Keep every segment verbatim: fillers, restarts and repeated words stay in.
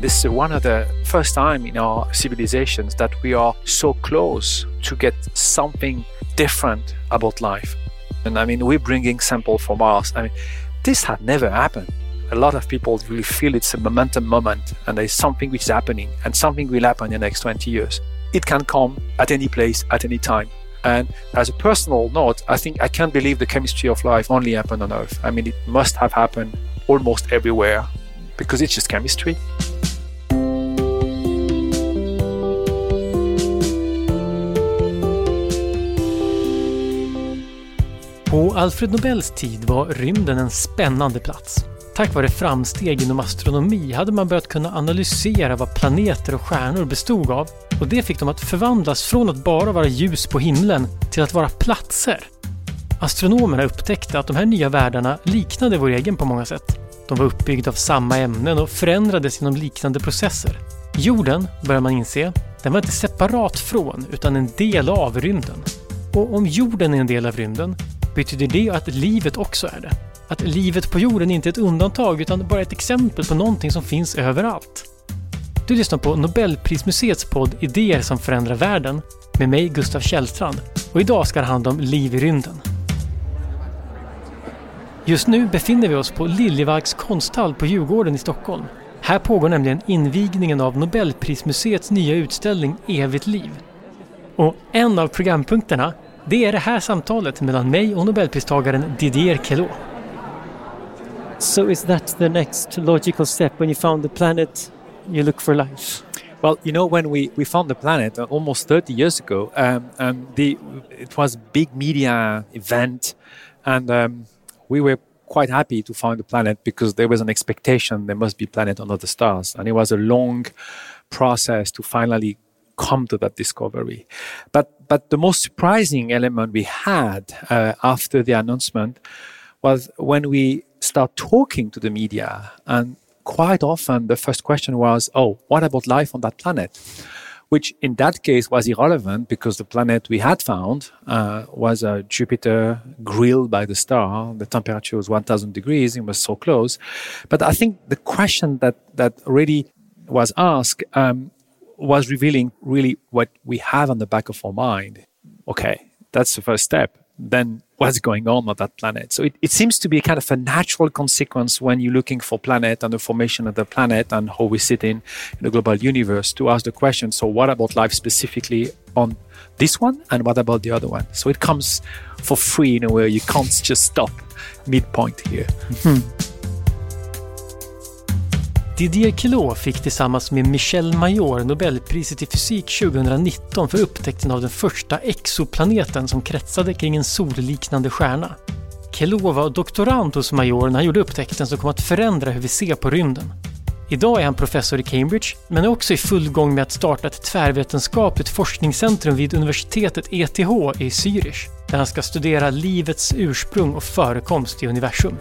This is one of the first time in our civilizations that we are so close to get something different about life. And I mean, we're bringing sample from Mars. I mean, this had never happened. A lot of people really feel it's a momentum moment and there's something which is happening and something will happen in the next twenty years. It can come at any place, at any time. And as a personal note, I think I can't believe the chemistry of life only happened on Earth. I mean, it must have happened almost everywhere because it's just chemistry. På Alfred Nobels tid var rymden en spännande plats. Tack vare framsteg inom astronomi hade man börjat kunna analysera vad planeter och stjärnor bestod av, och det fick dem att förvandlas från att bara vara ljus på himlen till att vara platser. Astronomerna upptäckte att de här nya världarna liknade vår egen på många sätt. De var uppbyggda av samma ämnen och förändrades genom liknande processer. Jorden, börjar man inse, den var inte separat från utan en del av rymden. Och om jorden är en del av rymden betyder det att livet också är det. Att livet på jorden inte är ett undantag utan bara ett exempel på någonting som finns överallt. Du lyssnar på Nobelprismuseets podd Idéer som förändrar världen med mig, Gustav Källstrand. Och idag ska det handla om liv i rymden. Just nu befinner vi oss på Liljevalchs konsthall på Djurgården i Stockholm. Här pågår nämligen invigningen av Nobelprismuseets nya utställning Evigt liv. Och en av programpunkterna, det är det här samtalet mellan mig och Nobelpristagaren Didier Queloz. So is that the next logical step when you found the planet, you look for life? Well, you know, when we, we found the planet uh, almost thirty years ago, um, um, the, it was a big media event, and um, we were quite happy to find the planet because there was an expectation there must be a planet under the stars, and it was a long process to finally come to that discovery. But but the most surprising element we had uh, after the announcement was when we start talking to the media, and quite often the first question was, oh, what about life on that planet? Which in that case was irrelevant because the planet we had found uh, was a Jupiter grilled by the star. The temperature was one thousand degrees, it was so close. But I think the question that, that really was asked um, was revealing really what we have on the back of our mind. Okay, that's the first step. Then what's going on on that planet? So it, it seems to be kind of a natural consequence when you're looking for planet and the formation of the planet and how we sit in, in the global universe to ask the question, so what about life specifically on this one and what about the other one? So it comes for free in a way. You can't just stop midpoint here. Mm-hmm. Didier Queloz fick tillsammans med Michel Mayor Nobelpriset i fysik tjugonitton för upptäckten av den första exoplaneten som kretsade kring en solliknande stjärna. Queloz var doktorand hos Mayor när han gjorde upptäckten som kom att förändra hur vi ser på rymden. Idag är han professor i Cambridge, men är också i full gång med att starta ett tvärvetenskapligt forskningscentrum vid universitetet E T H i Zürich, där han ska studera livets ursprung och förekomst i universum.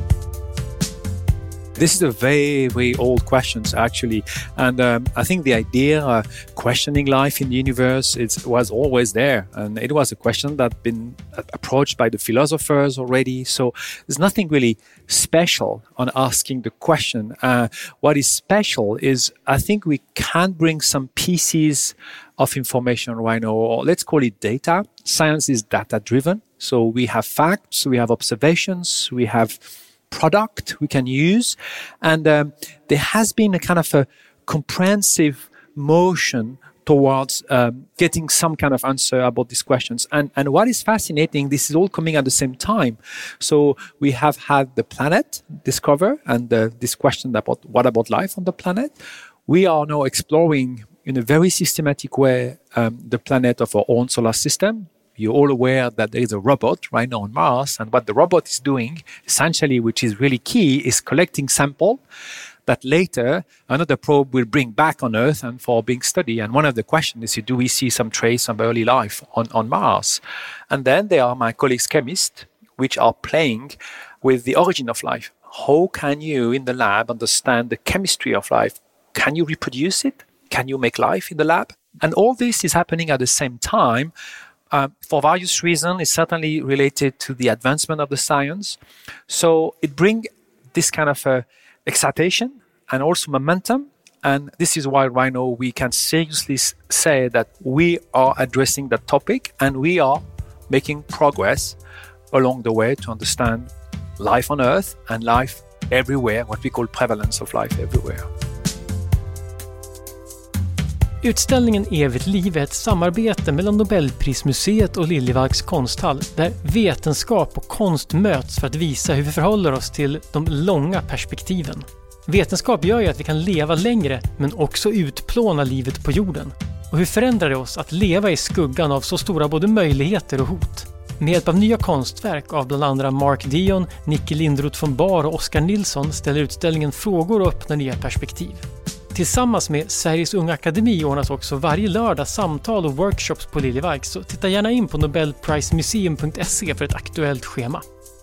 This is a very, very old question, actually. And um, I think the idea of questioning life in the universe it was always there. And it was a question that's been approached by the philosophers already. So there's nothing really special on asking the question. Uh, what is special is I think we can bring some pieces of information right now, or let's call it data. Science is data-driven. So we have facts, we have observations, we have product we can use, and um, there has been a kind of a comprehensive motion towards um, getting some kind of answer about these questions. And and what is fascinating, this is all coming at the same time. So we have had the planet discover and uh, this question about what about life on the planet. We are now exploring in a very systematic way um, the planet of our own solar system. You're all aware that there is a robot right now on Mars, and what the robot is doing, essentially, which is really key, is collecting sample that later another probe will bring back on Earth and for being studied. And one of the questions is, do we see some trace of early life on, on Mars? And then there are my colleagues chemists, which are playing with the origin of life. How can you, in the lab, understand the chemistry of life? Can you reproduce it? Can you make life in the lab? And all this is happening at the same time. Uh, for various reasons, it's certainly related to the advancement of the science. So it brings this kind of uh, excitation and also momentum. And this is why right now we can seriously say that we are addressing that topic and we are making progress along the way to understand life on Earth and life everywhere, what we call prevalence of life everywhere. Utställningen Evigt liv är ett samarbete mellan Nobelprismuseet och Liljevalchs konsthall där vetenskap och konst möts för att visa hur vi förhåller oss till de långa perspektiven. Vetenskap gör ju att vi kan leva längre men också utplåna livet på jorden. Och hur förändrar det oss att leva i skuggan av så stora både möjligheter och hot? Med hjälp av nya konstverk av bland andra Mark Dion, Nicke Lindroth von Bahr och Oskar Nilsson ställer utställningen frågor och öppnar nya perspektiv. Tillsammans med Sveriges Unga Akademi ordnas också varje lördag samtal och workshops på Liljevalchs, så titta gärna in på nobelprismuseum punkt se för ett aktuellt schema.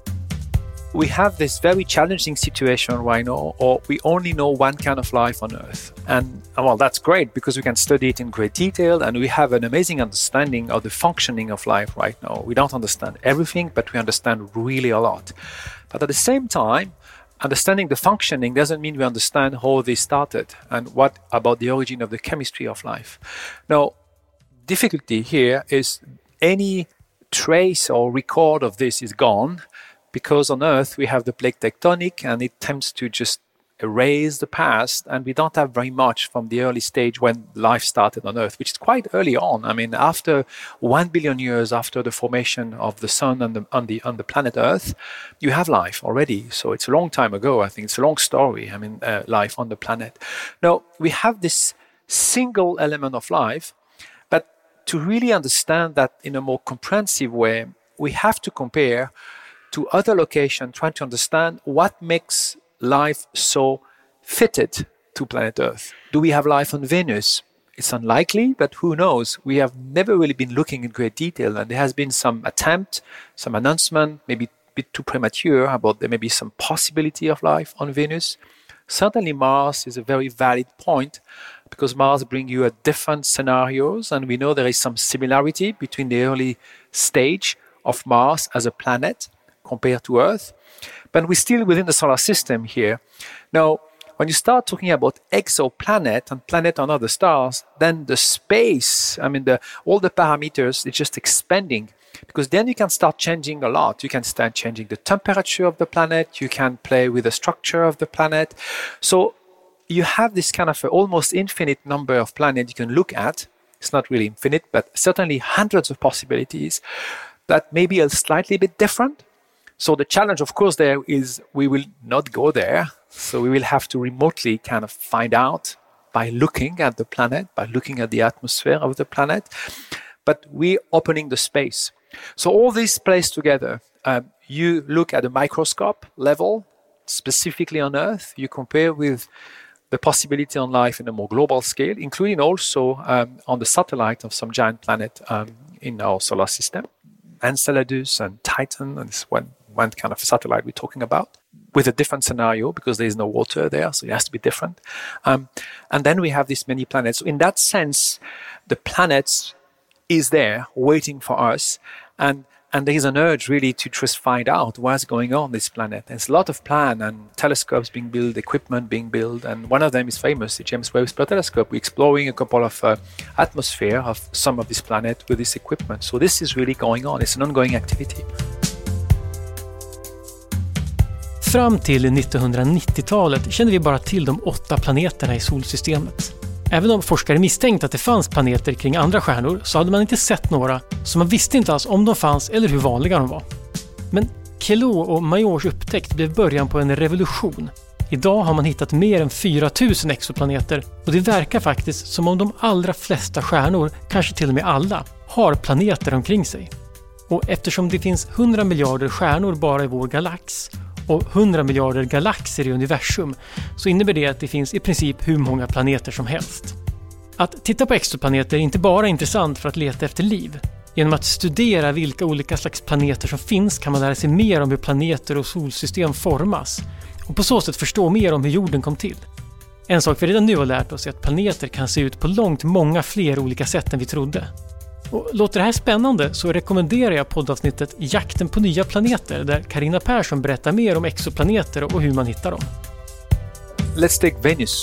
We have this very challenging situation right now, or we only know one kind of life on Earth. And well, that's great because we can study it in great detail and we have an amazing understanding of the functioning of life right now. We don't understand everything, but we understand really a lot. But at the same time, understanding the functioning doesn't mean we understand how they started and what about the origin of the chemistry of life. Now, difficulty here is any trace or record of this is gone because on Earth we have the plate tectonic and it tends to just erase the past, and we don't have very much from the early stage when life started on Earth, which is quite early on. I mean, after one billion years after the formation of the sun and the, on, the, on the planet Earth, you have life already. So it's a long time ago. I think it's a long story. I mean, uh, life on the planet. Now, we have this single element of life, but to really understand that in a more comprehensive way, we have to compare to other locations, trying to understand what makes life so fitted to planet Earth. Do we have life on Venus? It's unlikely, but who knows? We have never really been looking in great detail, and there has been some attempt, some announcement, maybe a bit too premature, about there may be some possibility of life on Venus. Certainly Mars is a very valid point because Mars brings you a different scenarios, and we know there is some similarity between the early stage of Mars as a planet compared to Earth. But we're still within the solar system here. Now, when you start talking about exoplanet and planet on other stars, then the space, I mean, the, all the parameters, it's just expanding. Because then you can start changing a lot. You can start changing the temperature of the planet. You can play with the structure of the planet. So you have this kind of almost infinite number of planets you can look at. It's not really infinite, but certainly hundreds of possibilities that may be a slightly bit different. So the challenge, of course, there is we will not go there. So we will have to remotely kind of find out by looking at the planet, by looking at the atmosphere of the planet. But we're opening the space. So all these placed together, um, you look at a microscope level, specifically on Earth, you compare with the possibility on life in a more global scale, including also um, on the satellite of some giant planet um, in our solar system. Enceladus and Titan, and this one, one kind of satellite we're talking about, with a different scenario because there is no water there, so it has to be different. Um, and then we have these many planets. So in that sense, the planets is there waiting for us, and and there is an urge really to just find out what's going on this planet. There's a lot of plan and telescopes being built, equipment being built, and one of them is famous, the James Webb Space Telescope. We're exploring a couple of uh, atmosphere of some of this planet with this equipment. So this is really going on. It's an ongoing activity. Fram till nittonhundranittiotalet kände vi bara till de åtta planeterna i solsystemet. Även om forskare misstänkte att det fanns planeter kring andra stjärnor så hade man inte sett några, så man visste inte alls om de fanns eller hur vanliga de var. Men Queloz och Majors upptäckt blev början på en revolution. Idag har man hittat mer än fyra tusen exoplaneter och det verkar faktiskt som om de allra flesta stjärnor, kanske till och med alla, har planeter omkring sig. Och eftersom det finns hundra miljarder stjärnor bara i vår galax och hundra miljarder galaxer i universum, så innebär det att det finns i princip hur många planeter som helst. Att titta på exoplaneter är inte bara intressant för att leta efter liv. Genom att studera vilka olika slags planeter som finns kan man lära sig mer om hur planeter och solsystem formas och på så sätt förstå mer om hur jorden kom till. En sak vi redan nu har lärt oss är att planeter kan se ut på långt många fler olika sätt än vi trodde. Och låter det här spännande så rekommenderar jag poddavsnittet Jakten på nya planeter där Carina Persson berättar mer om exoplaneter och hur man hittar dem. Let's take Venus.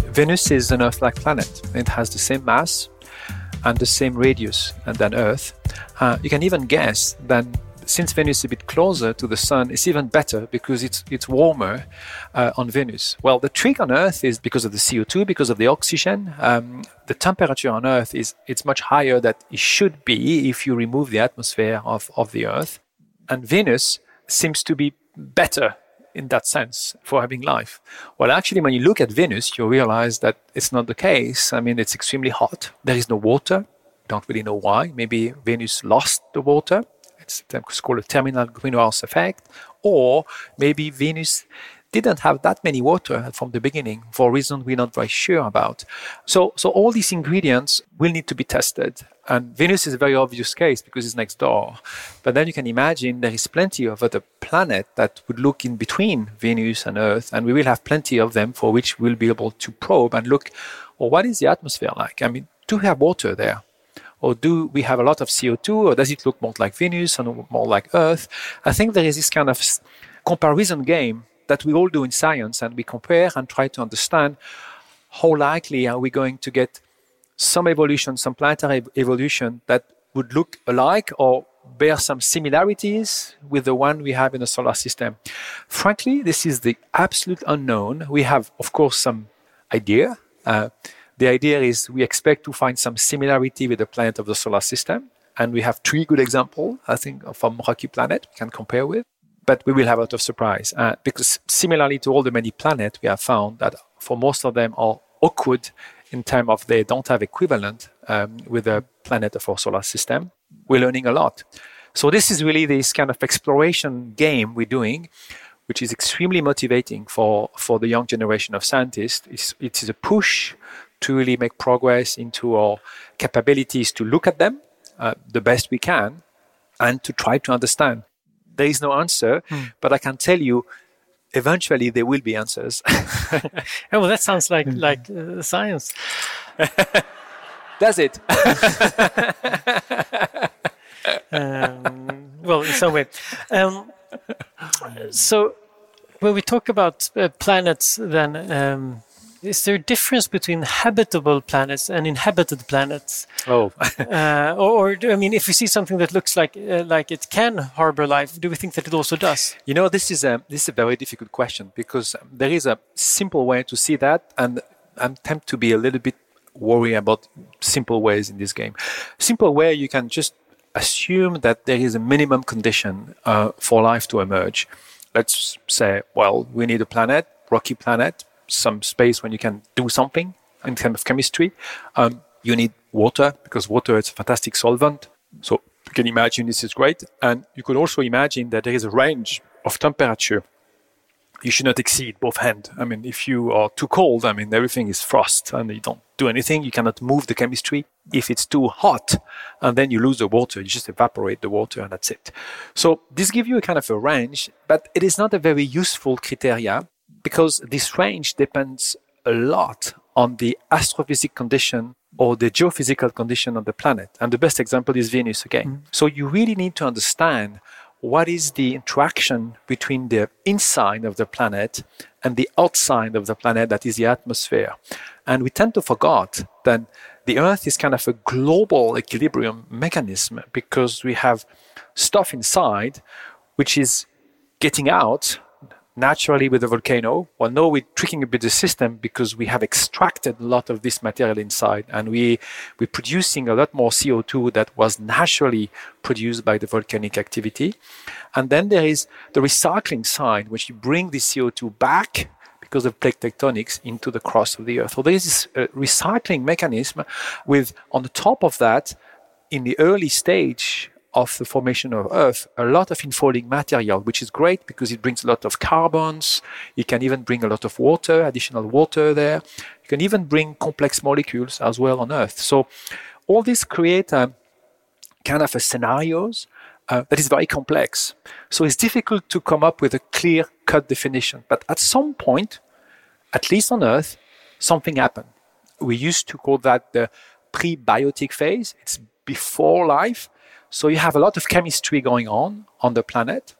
Venus is an Earth-like planet. It has the same mass and the same radius than Earth. Uh, you can even guess that since Venus is a bit closer to the Sun, it's even better because it's it's warmer uh, on Venus. Well, the trick on Earth is because of the C O two, because of the oxygen. Um, the temperature on Earth is it's much higher than it should be if you remove the atmosphere of, of the Earth. And Venus seems to be better in that sense for having life. Well, actually, when you look at Venus, you realize that it's not the case. I mean, it's extremely hot. There is no water. Don't really know why. Maybe Venus lost the water. It's called a terminal greenhouse effect. Or maybe Venus didn't have that many water from the beginning for a reason we're not very sure about. So, so all these ingredients will need to be tested. And Venus is a very obvious case because it's next door. But then you can imagine there is plenty of other planets that would look in between Venus and Earth, and we will have plenty of them for which we'll be able to probe and look, well, what is the atmosphere like? I mean, do we have water there? Or do we have a lot of C O two? Or does it look more like Venus and more like Earth? I think there is this kind of comparison game that we all do in science, and we compare and try to understand how likely are we going to get some evolution, some planetary evolution that would look alike or bear some similarities with the one we have in the solar system. Frankly, this is the absolute unknown. We have, of course, some idea. Uh, the idea is we expect to find some similarity with the planet of the solar system. And we have three good examples, I think, from rocky planet we can compare with. But we will have a lot of surprise. Uh, because similarly to all the many planets, we have found that for most of them are awkward in terms of they don't have equivalent um, with the planet of our solar system. We're learning a lot. So this is really this kind of exploration game we're doing, which is extremely motivating for, for the young generation of scientists. It's, it is a push to really make progress into our capabilities to look at them uh, the best we can and to try to understand. There is no answer, mm. but I can tell you, eventually there will be answers. Oh, well, that sounds like like uh, science. Does it? um, well, in some way. Um, so, when we talk about uh, planets, then um, is there a difference between habitable planets and inhabited planets? Oh, uh, or, or I mean, if we see something that looks like uh, like it can harbor life, do we think that it also does? You know, this is a this is a very difficult question because there is a simple way to see that, and I'm tempted to be a little bit worried about simple ways in this game. Simple way, you can just assume that there is a minimum condition uh, for life to emerge. Let's say, well, we need a planet, rocky planet, some space when you can do something in terms of chemistry. Um, you need water because water is a fantastic solvent. So you can imagine this is great. And you could also imagine that there is a range of temperature you should not exceed both ends. I mean, if you are too cold, I mean, everything is frost and you don't do anything. You cannot move the chemistry. If it's too hot, and then you lose the water, you just evaporate the water and that's it. So this gives you a kind of a range, but it is not a very useful criteria because this range depends a lot on the astrophysical condition or the geophysical condition of the planet. And the best example is Venus again. Mm. So you really need to understand what is the interaction between the inside of the planet and the outside of the planet, that is the atmosphere. And we tend to forget that the Earth is kind of a global equilibrium mechanism because we have stuff inside which is getting out naturally with the volcano. Well, no, we're tricking a bit the system because we have extracted a lot of this material inside and we, we're producing a lot more C O two that was naturally produced by the volcanic activity. And then there is the recycling side, which you bring the C O two back because of plate tectonics into the crust of the Earth. So there is this uh, recycling mechanism with, on the top of that, in the early stage of the formation of Earth, a lot of infalling material, which is great because it brings a lot of carbons. You can even bring a lot of water, additional water there. You can even bring complex molecules as well on Earth. So all this create a kind of a scenarios uh, that is very complex. So it's difficult to come up with a clear-cut definition. But at some point, at least on Earth, something happened. We used to call that the pre-biotic phase. It's before life. So you have a lot of chemistry going on on the planet,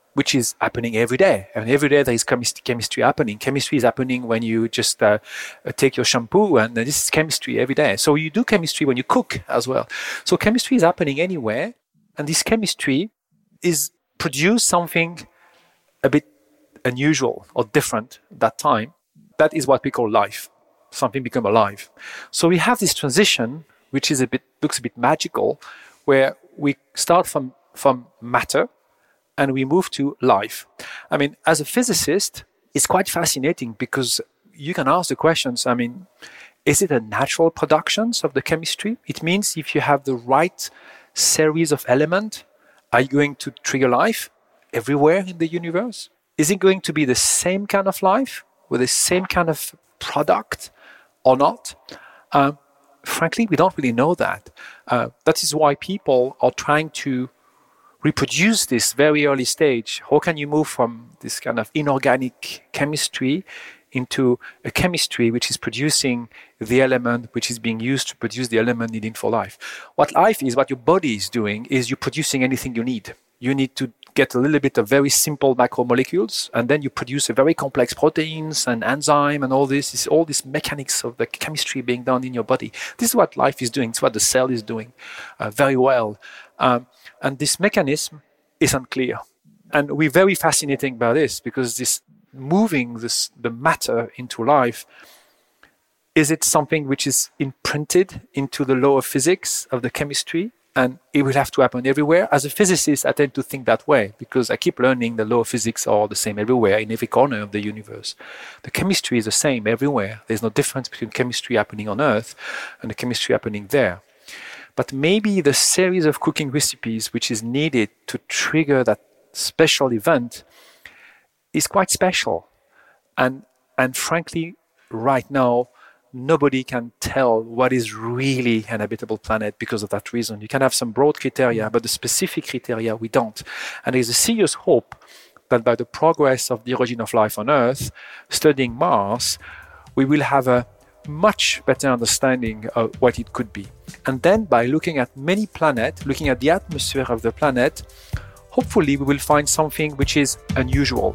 which is happening every day. And every day there is chemis- chemistry happening. Chemistry is happening when you just uh, take your shampoo, and this is chemistry every day. So you do chemistry when you cook as well. So chemistry is happening anywhere, and this chemistry is produce something a bit unusual or different at that time. That is what we call life. Something become alive. So we have this transition, which is a bit looks a bit magical, where we start from from matter and we move to life. I mean, as a physicist, it's quite fascinating because you can ask the questions. I mean, is it a natural productions of the chemistry? It means if you have the right series of elements, are you going to trigger life everywhere in the universe? Is it going to be the same kind of life with the same kind of product or not? Um, frankly, we don't really know that. Uh, that is why people are trying to reproduce this very early stage. How can you move from this kind of inorganic chemistry into a chemistry which is producing the element which is being used to produce the element needed for life? What life is, what your body is doing, is you're producing anything you need. You need to get a little bit of very simple macromolecules, and then you produce a very complex proteins and enzyme and all this. It's all these mechanics of the chemistry being done in your body. This is what life is doing. It's what the cell is doing uh, very well. Um, and this mechanism is unclear. And we're very fascinating about this because this moving this the matter into life, is it something which is imprinted into the law of physics of the chemistry? And it will have to happen everywhere. As a physicist, I tend to think that way because I keep learning the law of physics are the same everywhere in every corner of the universe. The chemistry is the same everywhere. There's no difference between chemistry happening on Earth and the chemistry happening there. But maybe the series of cooking recipes which is needed to trigger that special event is quite special. And, and frankly, right now, nobody can tell what is really an habitable planet because of that reason. You can have some broad criteria, but the specific criteria we don't. And there's a serious hope that by the progress of the origin of life on Earth, studying Mars, we will have a much better understanding of what it could be. And then by looking at many planets, looking at the atmosphere of the planet, hopefully we will find something which is unusual.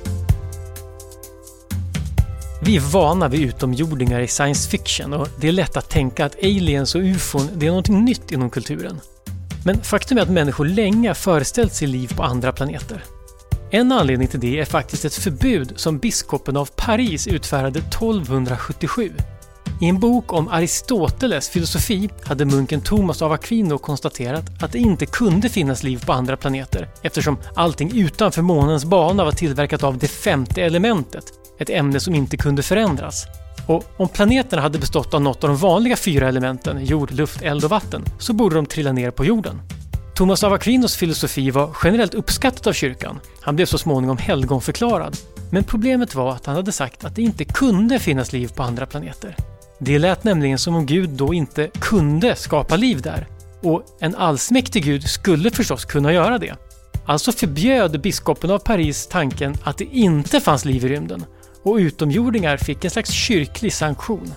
Vi är vana vid utomjordingar i science fiction och det är lätt att tänka att aliens och ufon det är någonting nytt inom kulturen. Men faktum är att människor länge föreställt sig liv på andra planeter. En anledning till det är faktiskt ett förbud som biskopen av Paris utfärdade tolvhundrasjuttiosju. I en bok om Aristoteles filosofi hade munken Thomas av Aquino konstaterat att det inte kunde finnas liv på andra planeter eftersom allting utanför månens bana var tillverkat av det femte elementet, ett ämne som inte kunde förändras. Och om planeterna hade bestått av något av de vanliga fyra elementen, jord, luft, eld och vatten, så borde de trilla ner på jorden. Thomas av Aquinos filosofi var generellt uppskattat av kyrkan. Han blev så småningom helgonförklarad. Men problemet var att han hade sagt att det inte kunde finnas liv på andra planeter. Det lät nämligen som om Gud då inte kunde skapa liv där. Och en allsmäktig Gud skulle förstås kunna göra det. Alltså förbjöd biskopen av Paris tanken att det inte fanns liv i rymden. Och utomjordingar fick en slags kyrklig sanktion.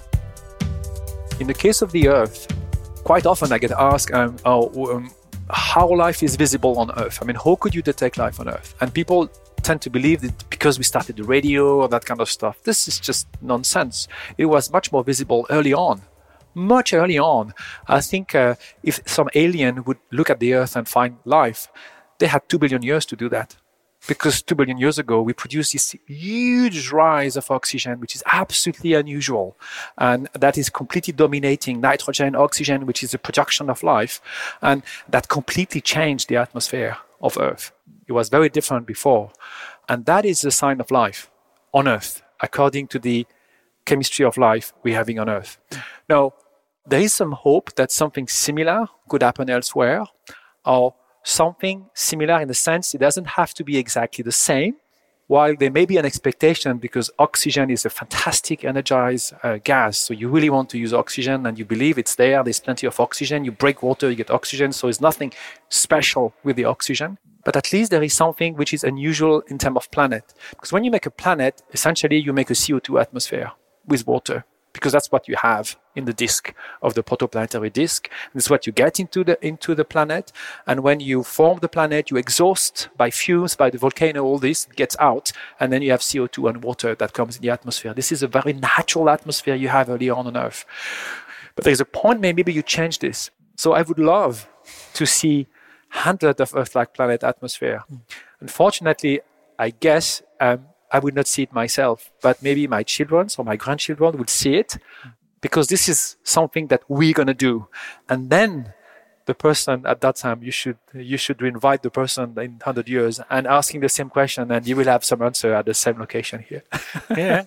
In the case of the Earth, quite often I get asked um, oh, um, how life is visible on Earth. I mean, how could you detect life on Earth? And people tend to believe that because we started the radio or that kind of stuff. This is just nonsense. It was much more visible early on. Much early on. I think uh, if some alien would look at the Earth and find life, they had two billion years to do that. Because two billion years ago, we produced this huge rise of oxygen, which is absolutely unusual. And that is completely dominating nitrogen, oxygen, which is the production of life. And that completely changed the atmosphere of Earth. It was very different before. And that is a sign of life on Earth, according to the chemistry of life we're having on Earth. Now, there is some hope that something similar could happen elsewhere, or something similar in the sense it doesn't have to be exactly the same, while there may be an expectation because oxygen is a fantastic energized uh, gas. So you really want to use oxygen and you believe it's there. There's plenty of oxygen. You break water, you get oxygen. So there's nothing special with the oxygen. But at least there is something which is unusual in terms of planet. Because when you make a planet, essentially you make a C O two atmosphere with water. because that's what you have in the disk of the protoplanetary disk. This is what you get into the into the planet. And when you form the planet, you exhaust by fumes, by the volcano, all this gets out, and then you have C O two and water that comes in the atmosphere. This is a very natural atmosphere you have early on on Earth. But there's a point where maybe you change this. So I would love to see hundreds of Earth-like planet atmosphere. Mm. Unfortunately, I guess um, I would not see it myself, but maybe my children or my grandchildren would see it, because this is something that we're going to do. And then the person at that time, you should you should invite the person in one hundred years and asking the same question, and you will have some answer at the same location here. Yeah.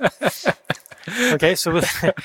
Okay, so we'll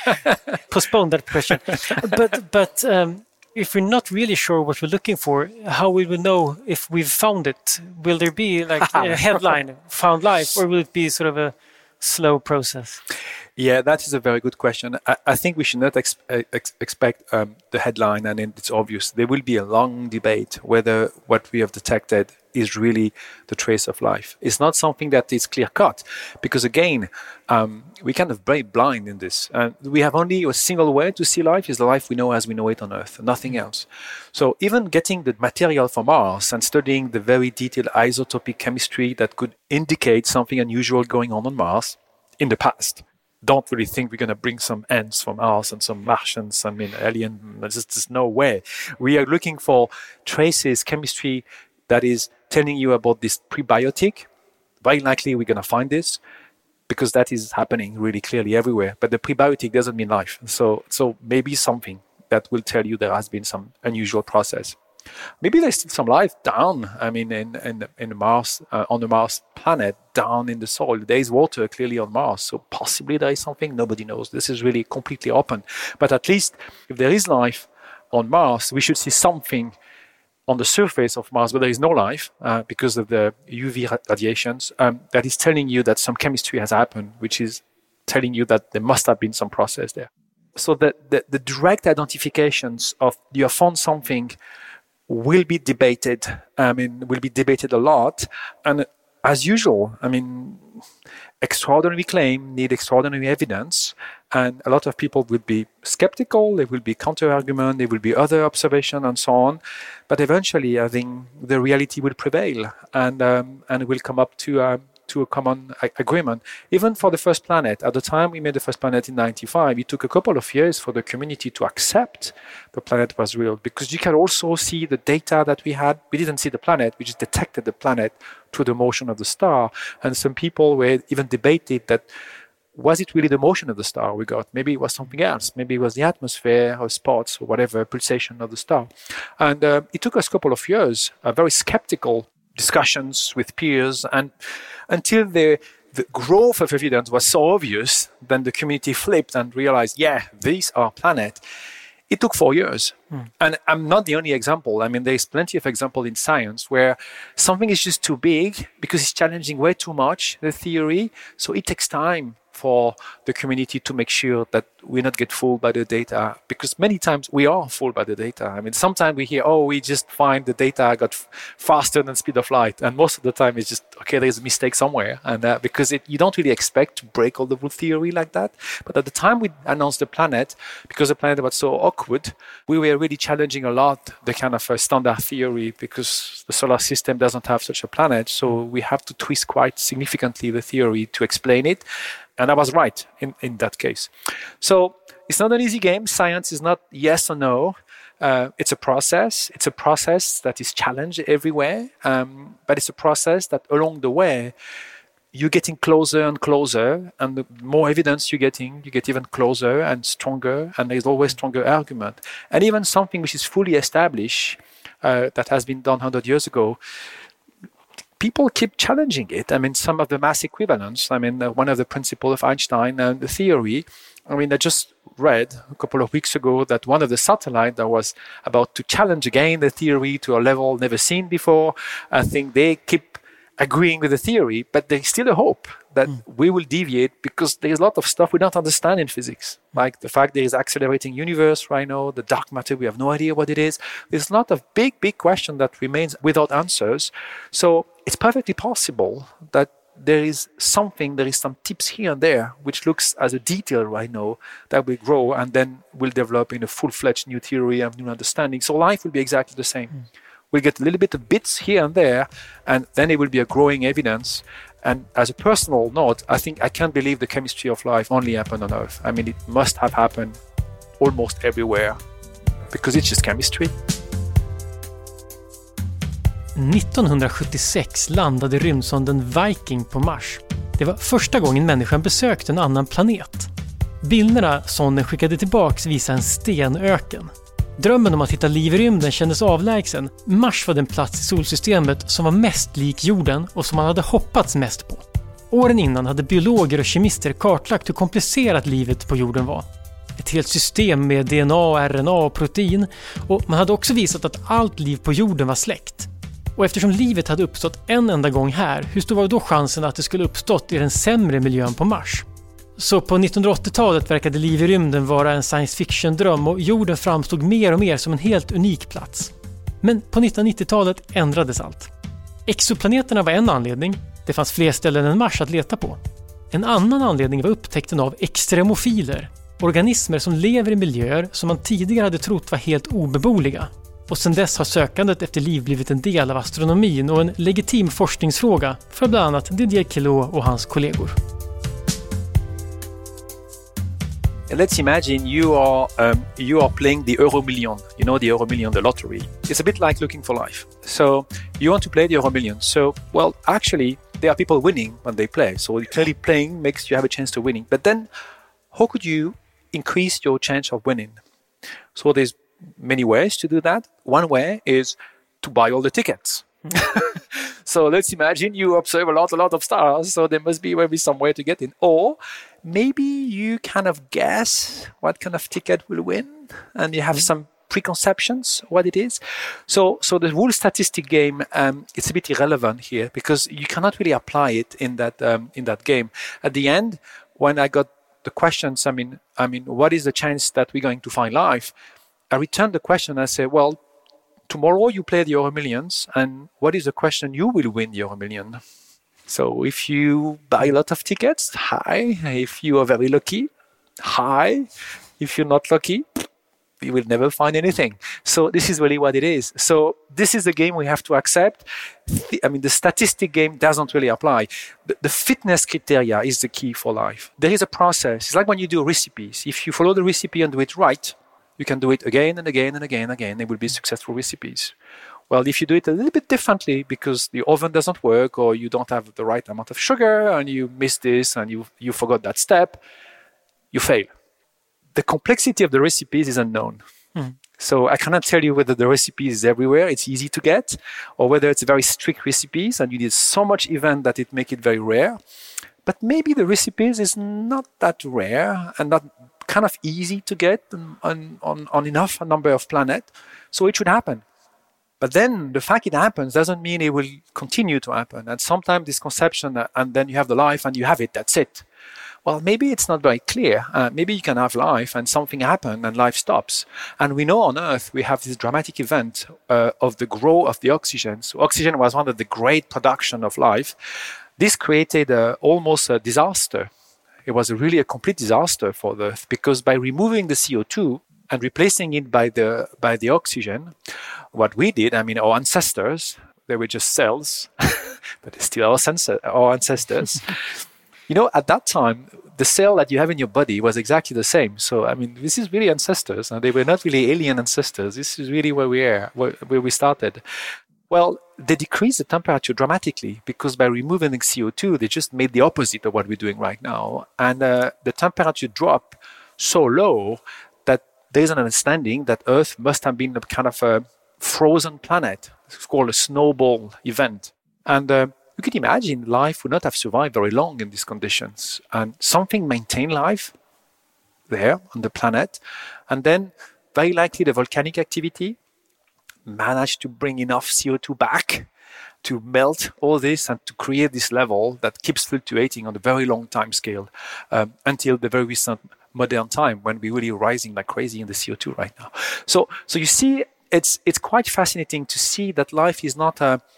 postpone that question. But but um, if we're not really sure what we're looking for, how will we know if we've found it? Will there be like a headline, found life, or will it be sort of a slow process? Yeah, that is a very good question. I, I think we should not ex- ex- expect um, the headline, and it's obvious. There will be a long debate whether what we have detected is really the trace of life. It's not something that is clear-cut, because again, um, we kind of very blind in this. Uh, we have only a single way to see life, is the life we know as we know it on Earth, nothing else. So even getting the material from Mars and studying the very detailed isotopic chemistry that could indicate something unusual going on on Mars in the past, don't really think we're going to bring some ants from Mars and some Martians, I mean, alien, there's just there's no way. We are looking for traces, chemistry that is telling you about this prebiotic. Very likely we're going to find this, because that is happening really clearly everywhere. But the prebiotic doesn't mean life. So, so maybe something that will tell you there has been some unusual process. Maybe there's still some life down, I mean, in in, in Mars, uh, on the Mars planet, down in the soil. There is water clearly on Mars, so possibly there is something, nobody knows. This is really completely open. But at least if there is life on Mars, we should see something on the surface of Mars, but there is no life uh, because of the U V radiations, um, that is telling you that some chemistry has happened, which is telling you that there must have been some process there. So the, the, the direct identifications of you have found something will be debated. I mean, will be debated a lot. And as usual, I mean, extraordinary claim need extraordinary evidence. And a lot of people will be skeptical. There will be counter-argument. There will be other observation and so on. But eventually, I think the reality will prevail, and um, and will come up to uh, to a common a- agreement. Even for the first planet, at the time we made the first planet in ninety-five, it took a couple of years for the community to accept the planet was real, because you can also see the data that we had. We didn't see the planet, we just detected the planet through the motion of the star. And some people were even debated that, was it really the motion of the star we got? Maybe it was something else. Maybe it was the atmosphere or spots or whatever, pulsation of the star. And uh, it took us a couple of years, uh, very skeptical discussions with peers, and until the the growth of evidence was so obvious, then the community flipped and realized, yeah, these are planets. It took four years. Mm. And I'm not the only example. I mean, there's plenty of examples in science where something is just too big because it's challenging way too much, the theory. So it takes time for the community to make sure that we not get fooled by the data, because many times we are fooled by the data. I mean, sometimes we hear, oh, we just find the data got f- faster than speed of light. And most of the time it's just, okay, there's a mistake somewhere. And uh, because it, you don't really expect to break all the rule theory like that. But at the time we announced the planet, because the planet was so awkward, we were really challenging a lot the kind of uh, standard theory, because the solar system doesn't have such a planet. So we have to twist quite significantly the theory to explain it. And I was right in, in that case. So it's not an easy game. Science is not yes or no. Uh, it's a process. It's a process that is challenged everywhere. Um, but it's a process that along the way, you're getting closer and closer. And the more evidence you're getting, you get even closer and stronger. And there's always stronger argument. And even something which is fully established, uh, that has been done one hundred years ago, people keep challenging it. I mean, some of the mass equivalence, I mean, uh, one of the principles of Einstein and the theory, I mean, I just read a couple of weeks ago that one of the satellites that was about to challenge again the theory to a level never seen before, I think they keep agreeing with the theory, but there's still a hope that mm. we will deviate, because there's a lot of stuff we don't understand in physics. Like the fact there is accelerating universe right now, the dark matter, we have no idea what it is. There's a lot of big, big question that remains without answers. So it's perfectly possible that there is something, there is some tips here and there, which looks as a detail right now that will grow and then will develop in a full-fledged new theory and new understanding. So life will be exactly the same. Mm. We'll get a little bit of bits here and there, and then it will be a growing evidence. And as a personal note, I think I can't believe the chemistry of life only happened on Earth. I mean, it must have happened almost everywhere because it's just chemistry. nittonhundrasjuttiosex landade rymdsonden Viking på Mars. Det var första gången människan besökte en annan planet. Bilderna sonden skickade tillbaks visar en stenöken. Drömmen om att hitta liv i rymden kändes avlägsen. Mars var den plats i solsystemet som var mest lik jorden och som man hade hoppats mest på. Åren innan hade biologer och kemister kartlagt hur komplicerat livet på jorden var. Ett helt system med D N A, R N A och protein, och man hade också visat att allt liv på jorden var släkt. Och eftersom livet hade uppstått en enda gång här, hur stor var då chansen att det skulle uppstått i den sämre miljön på Mars? Så på nittonhundraåttiotalet verkade liv i rymden vara en science fiction-dröm och jorden framstod mer och mer som en helt unik plats. Men på nittonhundranittiotalet ändrades allt. Exoplaneterna var en anledning, det fanns fler ställen än Mars att leta på. En annan anledning var upptäckten av extremofiler, organismer som lever i miljöer som man tidigare hade trott var helt obeboeliga. Och sedan dess har sökandet efter liv blivit en del av astronomin och en legitim forskningsfråga för bland annat Didier Queloz och hans kollegor. Let's imagine you are um, you are playing the Euromillion. You know the Euromillion, the lottery. It's a bit like looking for life. So you want to play the Euromillion. So, well, actually, there are people winning when they play. So clearly playing makes you have a chance to winning. But then, how could you increase your chance of winning? So there's many ways to do that. One way is to buy all the tickets. So let's imagine you observe a lot, a lot of stars. So there must be maybe some way to get in. Or maybe you kind of guess what kind of ticket will win, and you have mm-hmm. some preconceptions what it is. So, so the whole statistic game, um, it's a bit irrelevant here because you cannot really apply it in that um, in that game. At the end, when I got the questions, I mean, I mean, what is the chance that we're going to find life? I returned the question and I say, well, tomorrow you play the Euromillions, and what is the question you will win the Euromillion? So if you buy a lot of tickets, high. If you are very lucky, high. If you're not lucky, you will never find anything. So this is really what it is. So this is the game we have to accept. I mean, the statistic game doesn't really apply. The, the fitness criteria is the key for life. There is a process. It's like when you do recipes. If you follow the recipe and do it right, you can do it again and again and again and again. It will be successful recipes. Well, if you do it a little bit differently because the oven doesn't work or you don't have the right amount of sugar and you miss this and you, you forgot that step, you fail. The complexity of the recipes is unknown. Mm. So I cannot tell you whether the recipe is everywhere, it's easy to get, or whether it's very strict recipes and you need so much event that it make it very rare. But maybe the recipes is not that rare and not kind of easy to get on, on, on enough a number of planets, so it should happen. But then the fact it happens doesn't mean it will continue to happen. And sometimes this conception, uh, and then you have the life and you have it, that's it. Well, maybe it's not very clear. Uh, maybe you can have life and something happen and life stops. And we know on Earth we have this dramatic event uh, of the growth of the oxygen. So oxygen was one of the great production of life. This created uh, almost a disaster. It was really a complete disaster for the Earth because by removing the C O two and replacing it by the by the oxygen, what we did, I mean, our ancestors, they were just cells, but they're still our, sens- our ancestors. You know, at that time, the cell that you have in your body was exactly the same. So, I mean, this is really ancestors, and they were not really alien ancestors. This is really where we are, where, where we started. Well, they decreased the temperature dramatically because by removing the C O two, they just made the opposite of what we're doing right now. And uh, the temperature dropped so low that there's an understanding that Earth must have been a kind of a frozen planet. It's called a snowball event. And uh, you can imagine life would not have survived very long in these conditions. And something maintained life there on the planet. And then very likely the volcanic activity managed to bring enough C O two back to melt all this and to create this level that keeps fluctuating on a very long time scale um, until the very recent modern time when we're really rising like crazy in the C O two right now. So, so you see, it's it's quite fascinating to see that life is not a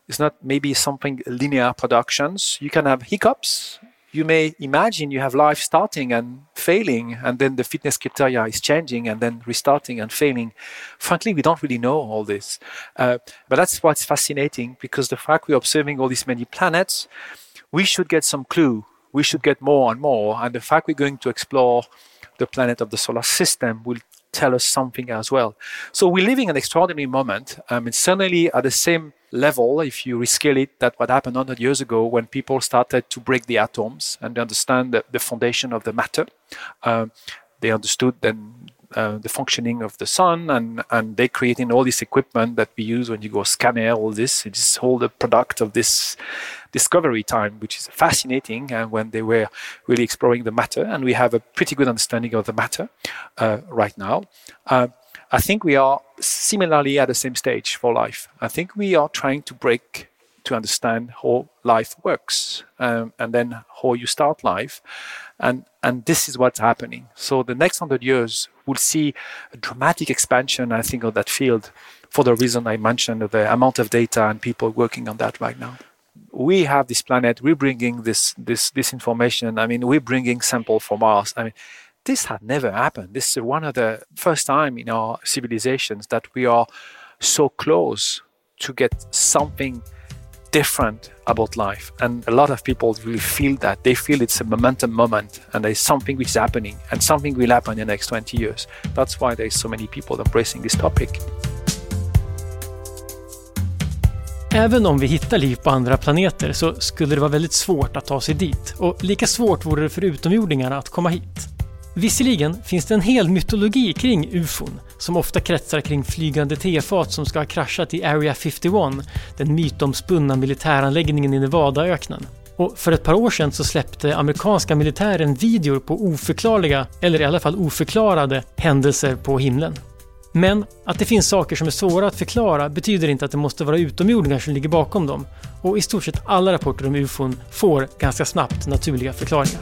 It's not maybe something linear productions. You can have hiccups. You may imagine you have life starting and failing, and then the fitness criteria is changing and then restarting and failing. Frankly, we don't really know all this. Uh, but that's what's fascinating, because the fact we're observing all these many planets, we should get some clue. We should get more and more. And the fact we're going to explore the planet of the solar system will tell us something as well. So we're living an extraordinary moment. I mean, certainly at the same level, if you rescale it, that what happened one hundred years ago when people started to break the atoms and understand the, the foundation of the matter. Um, they understood then uh, the functioning of the sun, and, and they created all this equipment that we use when you go scanner, all this. It's all the product of this discovery time, which is fascinating, and when they were really exploring the matter, and we have a pretty good understanding of the matter uh, right now. Uh, I think we are similarly at the same stage for life. I think we are trying to break to understand how life works, um, and then how you start life. And, and this is what's happening. So the next hundred years, we'll see a dramatic expansion, I think, of that field for the reason I mentioned, the amount of data and people working on that right now. We have this planet, we're bringing this, this, this information. I mean, we're bringing sample from Mars. I mean, this had never happened. This is one of the first time in our civilizations that we are so close to get something different about life. And a lot of people really feel that. They feel it's a momentum moment, and there's something which is happening, and something will happen in the next twenty years. That's why there's so many people embracing this topic. Även om vi hittar liv på andra planeter så skulle det vara väldigt svårt att ta sig dit. Och lika svårt vore det för utomjordingarna att komma hit. Visserligen finns det en hel mytologi kring U F O:n som ofta kretsar kring flygande tefat som ska ha kraschat i Area femtioett, den mytomspunna militäranläggningen i Nevadaöknen. Och för ett par år sedan så släppte amerikanska militären videor på oförklarliga, eller i alla fall oförklarade, händelser på himlen. Men att det finns saker som är svåra att förklara betyder inte att det måste vara utomjordingar som ligger bakom dem. Och i stort sett alla rapporter om U F O:n får ganska snabbt naturliga förklaringar.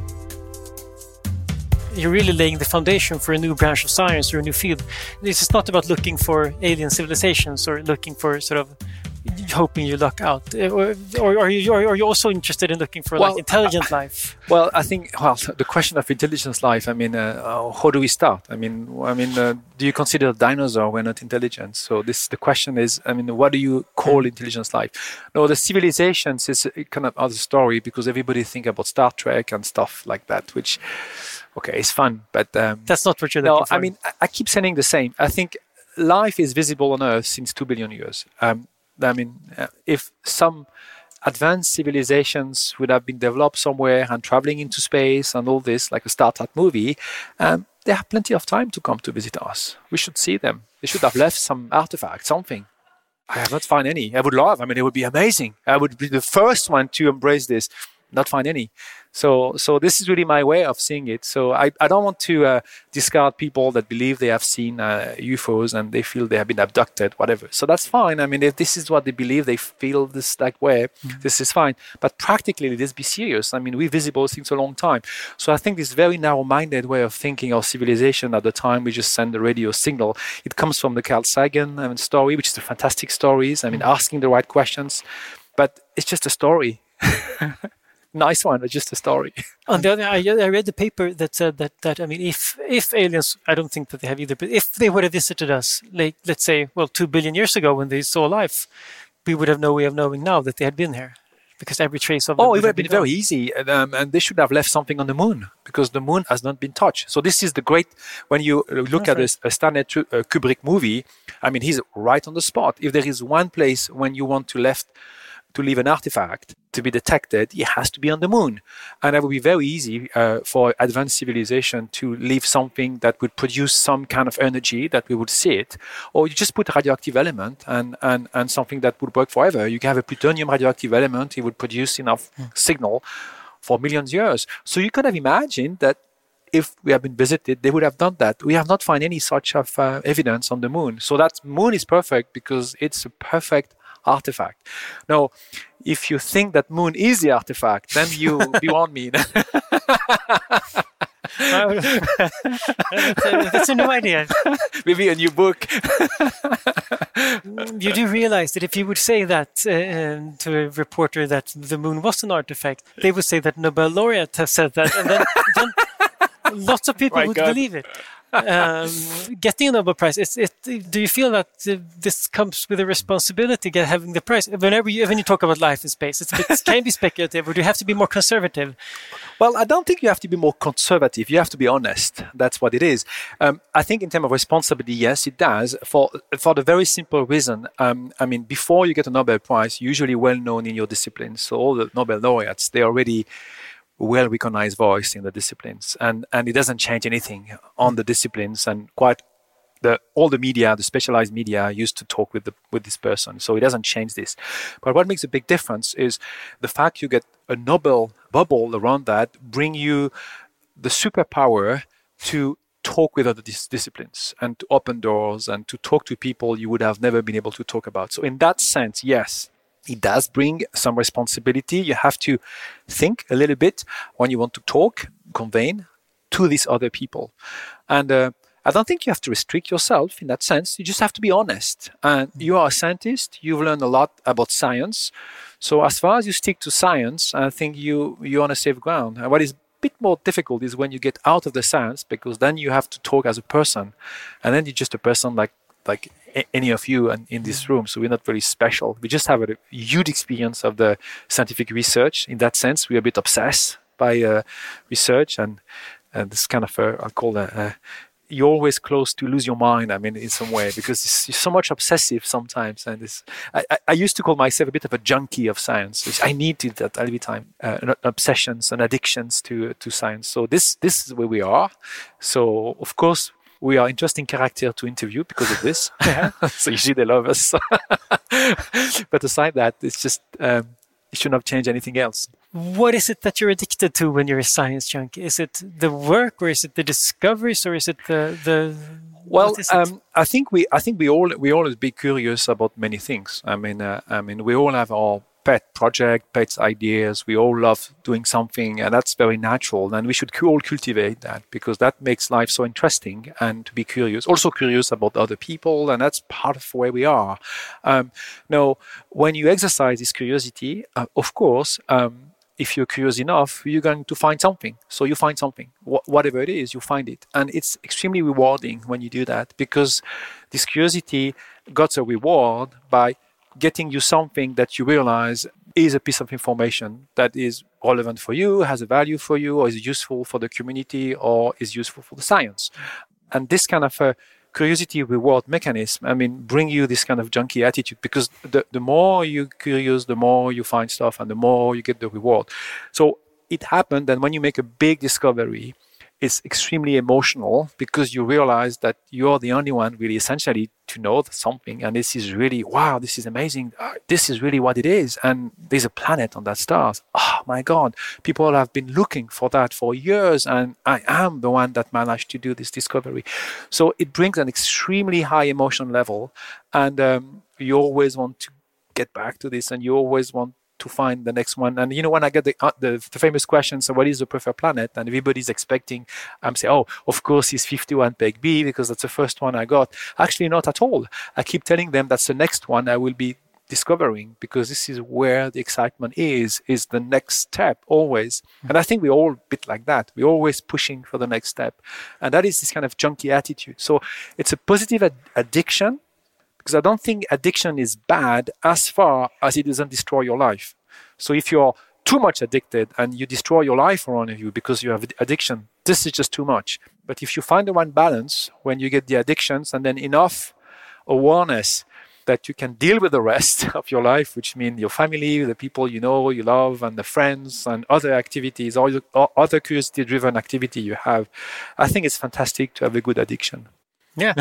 You're really laying the foundation for a new branch of science or a new field. This is not about looking for alien civilizations or looking for sort of hoping you luck out, or, or are you are you also interested in looking for well, like intelligent I, life? Well, I think well the question of intelligent life. I mean, uh, how do we start? I mean, I mean, uh, do you consider a dinosaur when not intelligent? So this the question is. I mean, what do you call intelligent life? No, the civilizations is kind of other story, because everybody think about Star Trek and stuff like that, which. Okay, it's fun, but... Um, That's not what you're looking no, for. I mean, I, I keep saying the same. I think life is visible on Earth since two billion years. Um, I mean, uh, if some advanced civilizations would have been developed somewhere and traveling into space and all this, like a Star Trek movie, um, they have plenty of time to come to visit us. We should see them. They should have left some artifact, something. I have not found any. I would love, I mean, it would be amazing. I would be the first one to embrace this. Not find any. So so this is really my way of seeing it. So I, I don't want to uh, discard people that believe they have seen uh, U F Os and they feel they have been abducted, whatever. So that's fine. I mean, if this is what they believe, they feel this like way, mm-hmm. this is fine. But practically, let's be serious. I mean, we're visible since a long time. So I think this very narrow-minded way of thinking of civilization at the time, we just send the radio signal. It comes from the Carl Sagan I mean, story, which is a fantastic stories. I mean, mm-hmm. asking the right questions. But it's just a story. Nice one, it's just a story. On the other, I, I read the paper that said that, that I mean, if if aliens, I don't think that they have either, but if they would have visited us, like, let's say, well, two billion years ago when they saw life, we would have no way of knowing now that they had been here, because every trace of them oh, it would have been, been very easy, um, and they should have left something on the moon, because the moon has not been touched. So this is the great, when you look That's at right. a, a Stanley uh, Kubrick movie, I mean, he's right on the spot. If there is one place when you want to left to leave an artifact to be detected, it has to be on the moon. And it would be very easy uh, for advanced civilization to leave something that would produce some kind of energy that we would see it. Or you just put a radioactive element and, and, and something that would work forever. You can have a plutonium radioactive element, it would produce enough mm. signal for millions of years. So you could have imagined that if we have been visited, they would have done that. We have not found any such of uh, evidence on the moon. So that moon is perfect because it's a perfect artifact. Now, if you think that moon is the artifact, then you you want me. that's, a, that's a new idea. Maybe a new book. You do realize that if you would say that uh, to a reporter that the moon was an artifact, they would say that Nobel laureate has said that, and then, then lots of people My would God. believe it. Um, getting a Nobel Prize, it's, it, do you feel that uh, this comes with a responsibility, get, having the prize? Whenever you, when you talk about life in space, it's a bit, it can be speculative, or do you have to be more conservative? Well, I don't think you have to be more conservative. You have to be honest. That's what it is. Um, I think in terms of responsibility, yes, it does. For for the very simple reason, um, I mean, before you get a Nobel Prize, usually well known in your discipline. So all the Nobel laureates, they're already well-recognized voice in the disciplines, and and it doesn't change anything on the disciplines, and quite the all the media, the specialized media, used to talk with the with this person, so it doesn't change this. But what makes a big difference is the fact you get a Nobel bubble around that, bring you the superpower to talk with other dis- disciplines and to open doors and to talk to people you would have never been able to talk about. So in that sense, yes, it does bring some responsibility. You have to think a little bit when you want to talk, convey to these other people. And uh, I don't think you have to restrict yourself in that sense. You just have to be honest. And you are a scientist. You've learned a lot about science. So as far as you stick to science, I think you, you're on a safe ground. And what is a bit more difficult is when you get out of the science, because then you have to talk as a person. And then you're just a person like like any of you and in this room, so we're not very special. We just have a huge experience of the scientific research. In that sense, we're a bit obsessed by uh, research, and, and this kind of a, I'll call it a, you're always close to lose your mind. I mean, in some way, because it's, it's so much obsessive sometimes. And it's, I, I used to call myself a bit of a junkie of science, which I needed that every time, uh, obsessions and addictions to to science. So this this is where we are. So of course, we are interesting character to interview because of this. So usually they love us. But aside that, it's just, um, it should not change anything else. What is it that you're addicted to when you're a science junkie? Is it the work, or is it the discoveries, or is it the the? Well, um, I think we I think we all we always be curious about many things. I mean, uh, I mean, we all have our pet project, pet ideas. We all love doing something, and that's very natural. And we should all cultivate that, because that makes life so interesting, and to be curious, also curious about other people, and that's part of where we are. Um, now, when you exercise this curiosity, uh, of course, um, if you're curious enough, you're going to find something. So you find something, Wh- whatever it is, you find it. And it's extremely rewarding when you do that, because this curiosity got a reward by getting you something that you realize is a piece of information that is relevant for you, has a value for you, or is useful for the community, or is useful for the science. And this kind of a curiosity reward mechanism, I mean, bring you this kind of junkie attitude, because the, the more you're curious, the more you find stuff, and the more you get the reward. So it happened that when you make a big discovery, it's extremely emotional, because you realize that you're the only one really essentially to know something. And this is really, wow, this is amazing. Uh, this is really what it is. And there's a planet on that star. Oh my God, people have been looking for that for years. And I am the one that managed to do this discovery. So it brings an extremely high emotion level. And um, you always want to get back to this, and you always want to find the next one. And you know, when I get the, uh, the the famous question, so what is the preferred planet? And everybody's expecting, I'm saying, oh, of course it's fifty-one Peg B, because that's the first one I got. Actually, not at all. I keep telling them that's the next one I will be discovering, because this is where the excitement is, is the next step always. And I think we're all a bit like that. We're always pushing for the next step. And that is this kind of junkie attitude. So it's a positive ad- addiction, because I don't think addiction is bad as far as it doesn't destroy your life. So if you're too much addicted and you destroy your life around you because you have addiction, this is just too much. But if you find the one balance when you get the addictions, and then enough awareness that you can deal with the rest of your life, which means your family, the people you know, you love, and the friends and other activities, or other curiosity-driven activity you have, I think it's fantastic to have a good addiction. Yeah,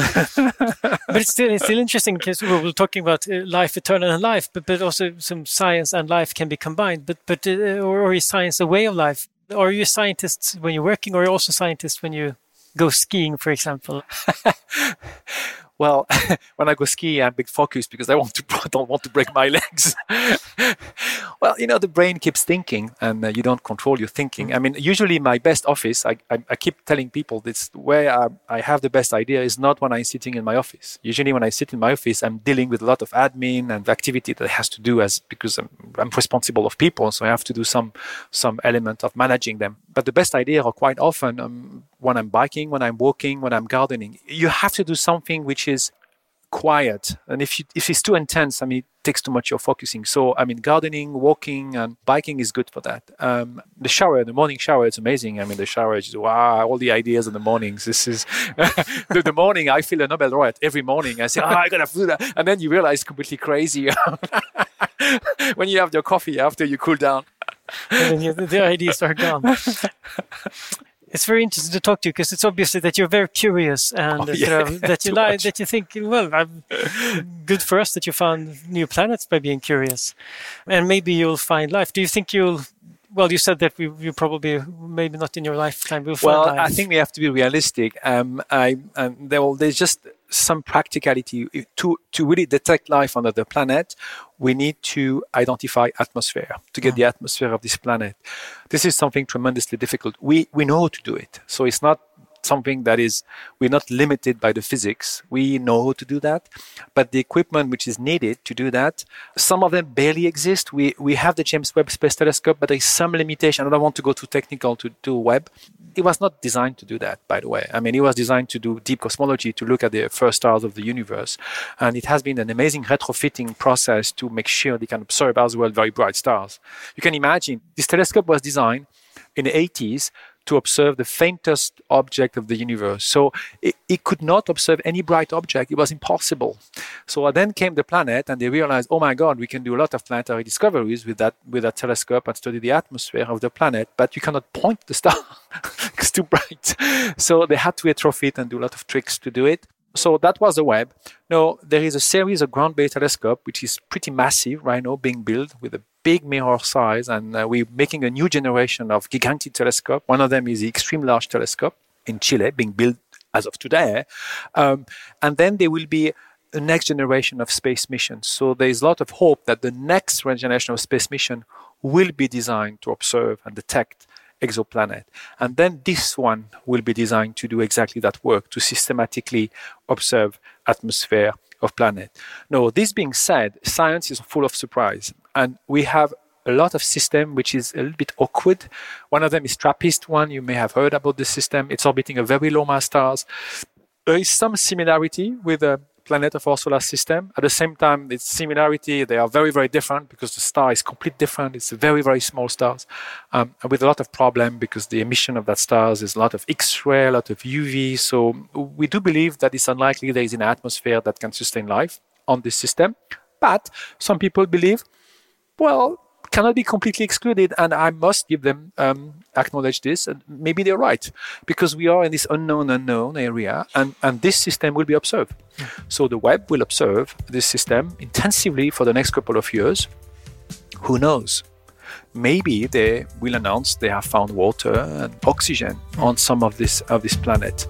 but it's still it's still interesting, because we were talking about uh, life, eternal and life, but but also some science and life can be combined. But but uh, or, or is science a way of life? Or are you a scientist when you're working, or are you also a scientist when you go skiing, for example? Well, when I go ski, I'm a bit focused because I want to don't want to break my legs. Well, you know, the brain keeps thinking, and uh, you don't control your thinking. I mean, usually my best office, I, I, I keep telling people this, where I, I have the best idea is not when I'm sitting in my office. Usually when I sit in my office, I'm dealing with a lot of admin and activity that has to do as because I'm, I'm responsible of people, so I have to do some some element of managing them. But the best idea are quite often um, when I'm biking, when I'm walking, when I'm gardening. You have to do something which is quiet, and if you, if it's too intense, I mean, it takes too much your focusing. So I mean, gardening, walking, and biking is good for that. Um, the shower, the morning shower, it's amazing. I mean, the shower is wow, all the ideas in the mornings. This is the, the morning. I feel a Nobel laureate every morning. I say, oh, I gotta do that, and then you realize it's completely crazy when you have your coffee after you cool down. And then you, the ideas are gone. It's very interesting to talk to you because it's obviously that you're very curious and oh, uh, yeah, sort of, that you like, much. that you think, well, I'm, good for us that you found new planets by being curious, and maybe you'll find life. Do you think you'll? Well, you said that we you probably maybe not in your lifetime will find well, life. I think we have to be realistic. Um, I um, there will, there's just some practicality to to really detect life on the planet. We need to identify atmosphere to get mm. the atmosphere of this planet. This is something tremendously difficult. We we know how to do it, so it's not something that is, we're not limited by the physics. We know how to do that, but the equipment which is needed to do that, some of them barely exist. We we have the James Webb Space Telescope, but there is some limitation. I don't want to go too technical to do Webb. It was not designed to do that, by the way. I mean, it was designed to do deep cosmology, to look at the first stars of the universe. And it has been an amazing retrofitting process to make sure they can observe as well very bright stars. You can imagine, this telescope was designed in the eighties to observe the faintest object of the universe. So it, it could not observe any bright object. It was impossible. So then came the planet, and they realized, oh my God, we can do a lot of planetary discoveries with that with that telescope and study the atmosphere of the planet, but you cannot point the star. It's too bright. So they had to retrofit and do a lot of tricks to do it. So that was the Webb. Now, there is a series of ground-based telescope, which is pretty massive right now, being built with a big mirror size, and uh, we're making a new generation of gigantic telescope. One of them is the Extreme Large Telescope in Chile, being built as of today. Um, and then there will be a next generation of space missions. So there's a lot of hope that the next generation of space mission will be designed to observe and detect exoplanet. And then this one will be designed to do exactly that work, to systematically observe atmosphere of planet. Now, this being said, science is full of surprise. And we have a lot of system which is a little bit awkward. One of them is TRAPPIST one. You may have heard about this system. It's orbiting a very low mass stars. There is some similarity with a planet of our solar system. At the same time, it's similarity. They are very, very different because the star is completely different. It's a very, very small stars, um, with a lot of problem because the emission of that stars is a lot of X-ray, a lot of U V. So we do believe that it's unlikely there is an atmosphere that can sustain life on this system. But some people believe, well, cannot be completely excluded, and I must give them um, acknowledge this, and maybe they're right, because we are in this unknown unknown area, and, and this system will be observed. Mm. So the Webb will observe this system intensively for the next couple of years. Who knows? Maybe they will announce they have found water and oxygen mm. on some of this of this planet.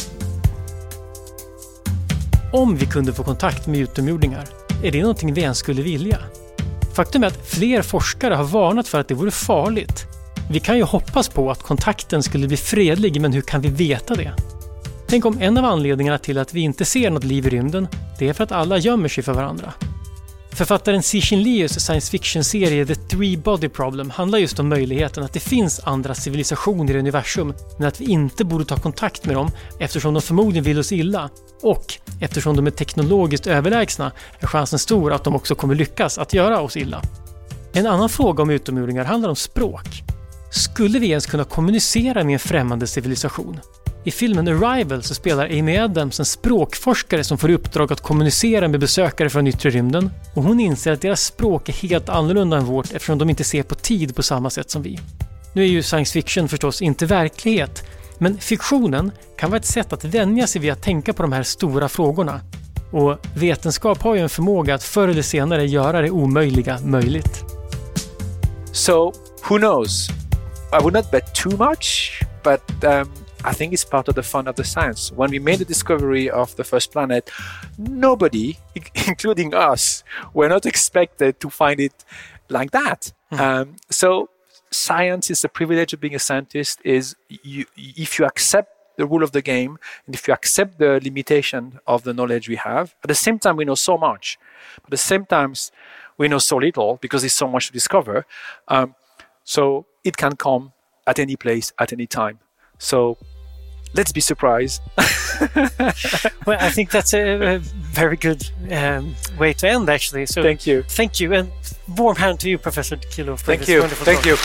Om vi kunde få kontakt med utomjordingar, är det någonting vi ens skulle vilja? Faktum är att fler forskare har varnat för att det vore farligt. Vi kan ju hoppas på att kontakten skulle bli fredlig, men hur kan vi veta det? Tänk om en av anledningarna till att vi inte ser något liv i rymden, det är för att alla gömmer sig för varandra. Författaren Cixin Lius science fiction-serie The Three Body Problem handlar just om möjligheten att det finns andra civilisationer i universum, men att vi inte borde ta kontakt med dem eftersom de förmodligen vill oss illa. Och eftersom de är teknologiskt överlägsna är chansen stor att de också kommer lyckas att göra oss illa. En annan fråga om utomjordingar handlar om språk. Skulle vi ens kunna kommunicera med en främmande civilisation? I filmen Arrival så spelar Amy Adams en språkforskare som får i uppdrag att kommunicera med besökare från yttre rymden, och hon inser att deras språk är helt annorlunda än vårt eftersom de inte ser på tid på samma sätt som vi. Nu är ju science fiction förstås inte verklighet, men fiktionen kan vara ett sätt att vänja sig vid att tänka på de här stora frågorna. Och vetenskap har ju en förmåga att förr eller senare göra det omöjliga möjligt. So, who knows? I would not bet too much, but um, I think it's part of the fun of the science. When we made the discovery of the first planet, nobody, including us, were not expected to find it like that. Mm. Um, so science is the privilege of being a scientist is you, if you accept the rule of the game and if you accept the limitation of the knowledge we have, at the same time we know so much, but at the same time we know so little because there's so much to discover. Um, so it can come at any place, at any time. So let's be surprised. Well, I think that's a, a very good um, way to end, actually. So thank you. Thank you. And warm hand to you, Professor Kilo. Thank you. Thank you.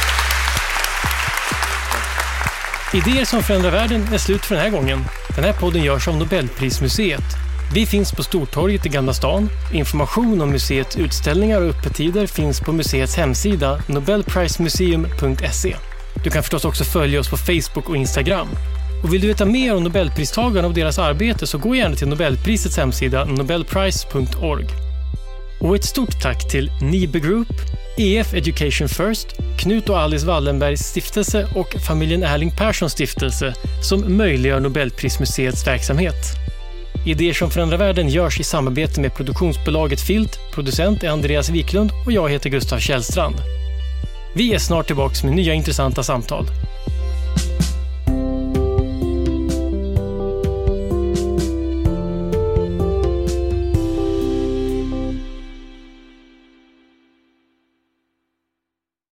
Idéer som förändrar världen är slut för den här gången. Den här podden görs av Nobelprismuseet. Vi finns på Stortorget i Gamla stan. Information om museets utställningar och öppettider finns på museets hemsida nobelprismuseum punkt se. Du kan förstås också följa oss på Facebook och Instagram. Och vill du veta mer om Nobelpristagarna och deras arbete så gå gärna till Nobelprisets hemsida nobelprice punkt org. Och ett stort tack till Nibe Group, E F Education First, Knut och Alice Wallenbergs stiftelse och familjen Erling Perssons stiftelse som möjliggör Nobelprismuseets verksamhet. Idéer som förändrar världen görs i samarbete med produktionsbolaget Filt, producent är Andreas Wiklund och jag heter Gustav Källstrand. Vi är snart tillbaka med nya intressanta samtal.